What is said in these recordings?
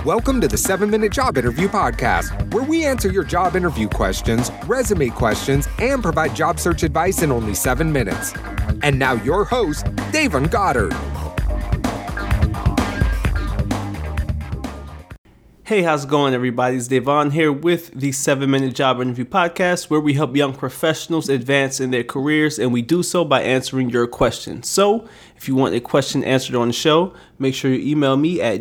Welcome to the 7-Minute Job Interview Podcast, where we answer your job interview questions, resume questions, and provide job search advice in only 7 minutes. And now your host, Davon Goddard. Hey, how's it going, everybody? It's Davon here with the 7-Minute Job Interview Podcast, where we help young professionals advance in their careers, and we do so by answering your questions. So, if you want a question answered on the show, make sure you email me at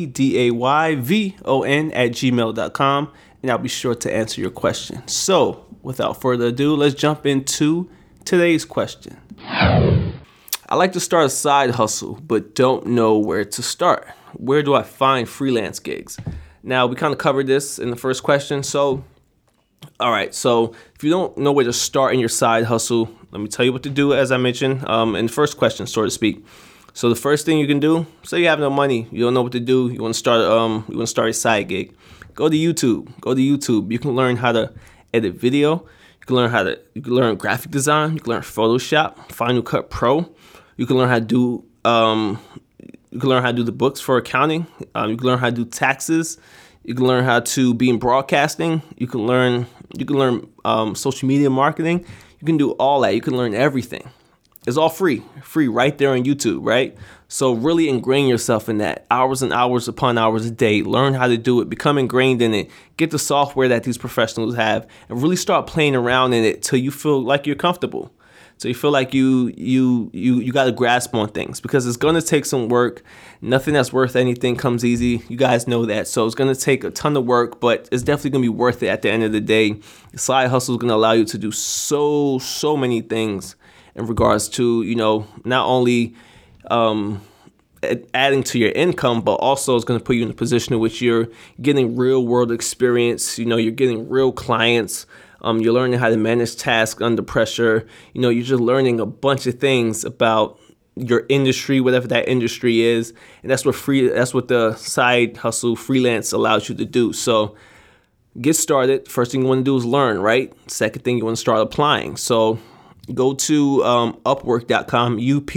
gdayvon@gmail.com, and I'll be sure to answer your question. So, without further ado, let's jump into today's question. I like to start a side hustle, but don't know where to start. Where do I find freelance gigs? Now, we kind of covered this in the first question. So, all right. So if you don't know where to start in your side hustle, let me tell you what to do, as I mentioned in the first question, so to speak. So the first thing you can do, say you have no money, you don't know what to do, you want to start a side gig. Go to YouTube. You can learn how to edit video. You can learn graphic design. You can learn Photoshop, Final Cut Pro. You can learn how to do the books for accounting. You can learn how to do taxes. You can learn how to be in broadcasting. You can learn social media marketing. You can do all that. You can learn everything. It's all free right there on YouTube, right? So really ingrain yourself in that. Hours and hours upon hours a day. Learn how to do it. Become ingrained in it. Get the software that these professionals have and really start playing around in it till you feel like you're comfortable. So you feel like you got a grasp on things, because it's going to take some work. Nothing that's worth anything comes easy. You guys know that. So it's going to take a ton of work, but it's definitely going to be worth it at the end of the day. The side hustle is going to allow you to do so many things in regards to, not only adding to your income, but also it's going to put you in a position in which you're getting real world experience. You're getting real clients. You're learning how to manage tasks under pressure. You're just learning a bunch of things about your industry, whatever that industry is. And that's what the side hustle freelance allows you to do. So get started. First thing you want to do is learn, right? Second thing, you want to start applying. So go to Upwork.com,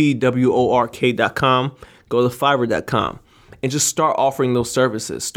UPWORK.com, go to Fiverr.com. And just start offering those services.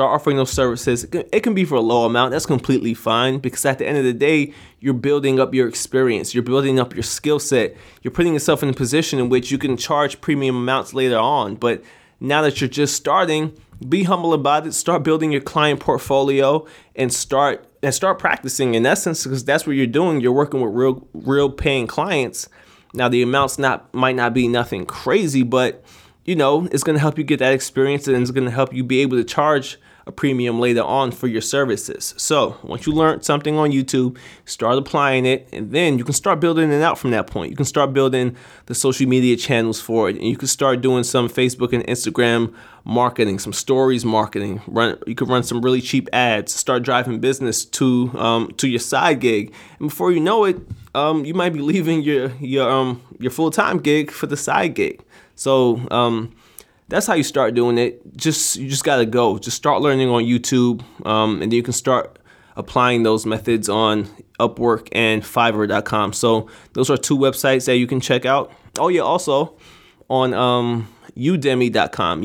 It can be for a low amount. That's completely fine, because at the end of the day, you're building up your experience. You're building up your skill set. You're putting yourself in a position in which you can charge premium amounts later on. But now that you're just starting, be humble about it. Start building your client portfolio and start practicing in essence, because that's what you're doing. You're working with real paying clients. Now, the amounts might not be nothing crazy, but it's going to help you get that experience, and it's going to help you be able to charge a premium later on for your services. So once you learn something on YouTube, start applying it, and then you can start building it out from that point. You can start building the social media channels for it, and you can start doing some Facebook and Instagram marketing, some stories marketing. You can run some really cheap ads, start driving business to your side gig, and before you know it, you might be leaving your full-time gig for the side gig. So that's how you start doing it. You just gotta go. Just start learning on YouTube, and then you can start applying those methods on Upwork and Fiverr.com. So those are two websites that you can check out. Oh yeah, also on Udemy.com,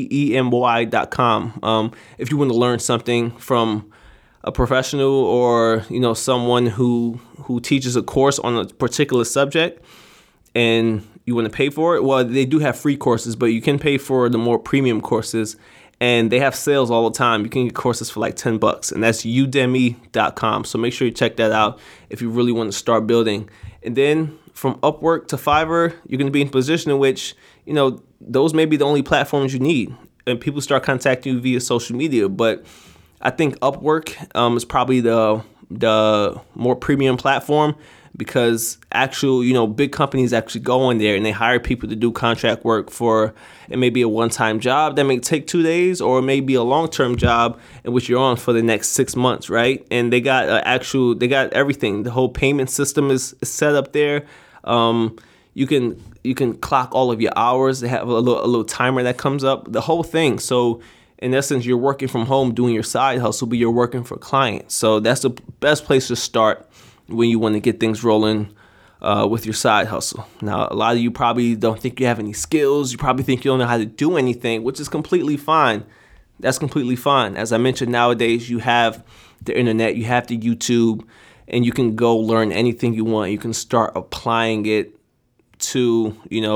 UDEMY.com. If you want to learn something from a professional or someone who teaches a course on a particular subject, and you want to pay for it, well, they do have free courses, but you can pay for the more premium courses, and they have sales all the time. You can get courses for like $10, and that's Udemy.com. So make sure you check that out if you really want to start building. And then from Upwork to Fiverr, you're going to be in a position in which, those may be the only platforms you need, and people start contacting you via social media. But I think Upwork is probably the more premium platform, because big companies actually go in there and they hire people to do contract work for, it may be a one-time job that may take 2 days, or it may be a long-term job in which you're on for the next 6 months, right? And they got they got everything. The whole payment system is set up there. You can clock all of your hours. They have a little timer that comes up, the whole thing. So in essence, you're working from home doing your side hustle, but you're working for clients. So that's the best place to start when you want to get things rolling with your side hustle. Now, a lot of you probably don't think you have any skills. You probably think you don't know how to do anything, which is completely fine. that's completely fine. As I mentioned, nowadays you have the internet, you have the YouTube, and you can go learn anything you want. You can start applying it to,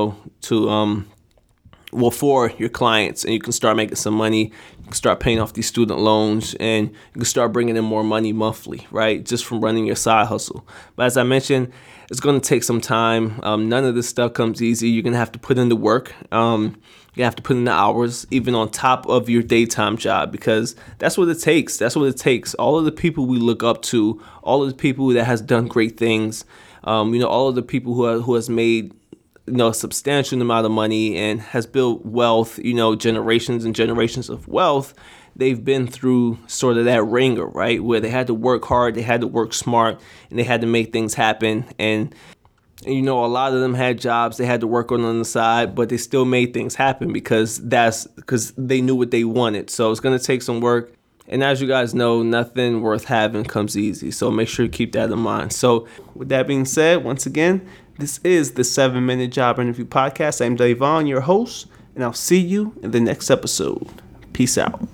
for your clients, and you can start making some money. You can start paying off these student loans, and you can start bringing in more money monthly, right? Just from running your side hustle. But as I mentioned, it's going to take some time. None of this stuff comes easy. You're going to have to put in the work. You have to put in the hours, even on top of your daytime job, because that's what it takes. That's what it takes. All of the people we look up to, all of the people that has done great things, all of the people who has made a substantial amount of money and has built wealth, generations and generations of wealth. They've been through sort of that ringer, right? Where they had to work hard, they had to work smart, and they had to make things happen. And a lot of them had jobs they had to work on the side, but they still made things happen because they knew what they wanted. So it's going to take some work. And as you guys know, nothing worth having comes easy. So make sure to keep that in mind. So with that being said, once again, this is the 7-Minute Job Interview Podcast. I'm Davon, your host, and I'll see you in the next episode. Peace out.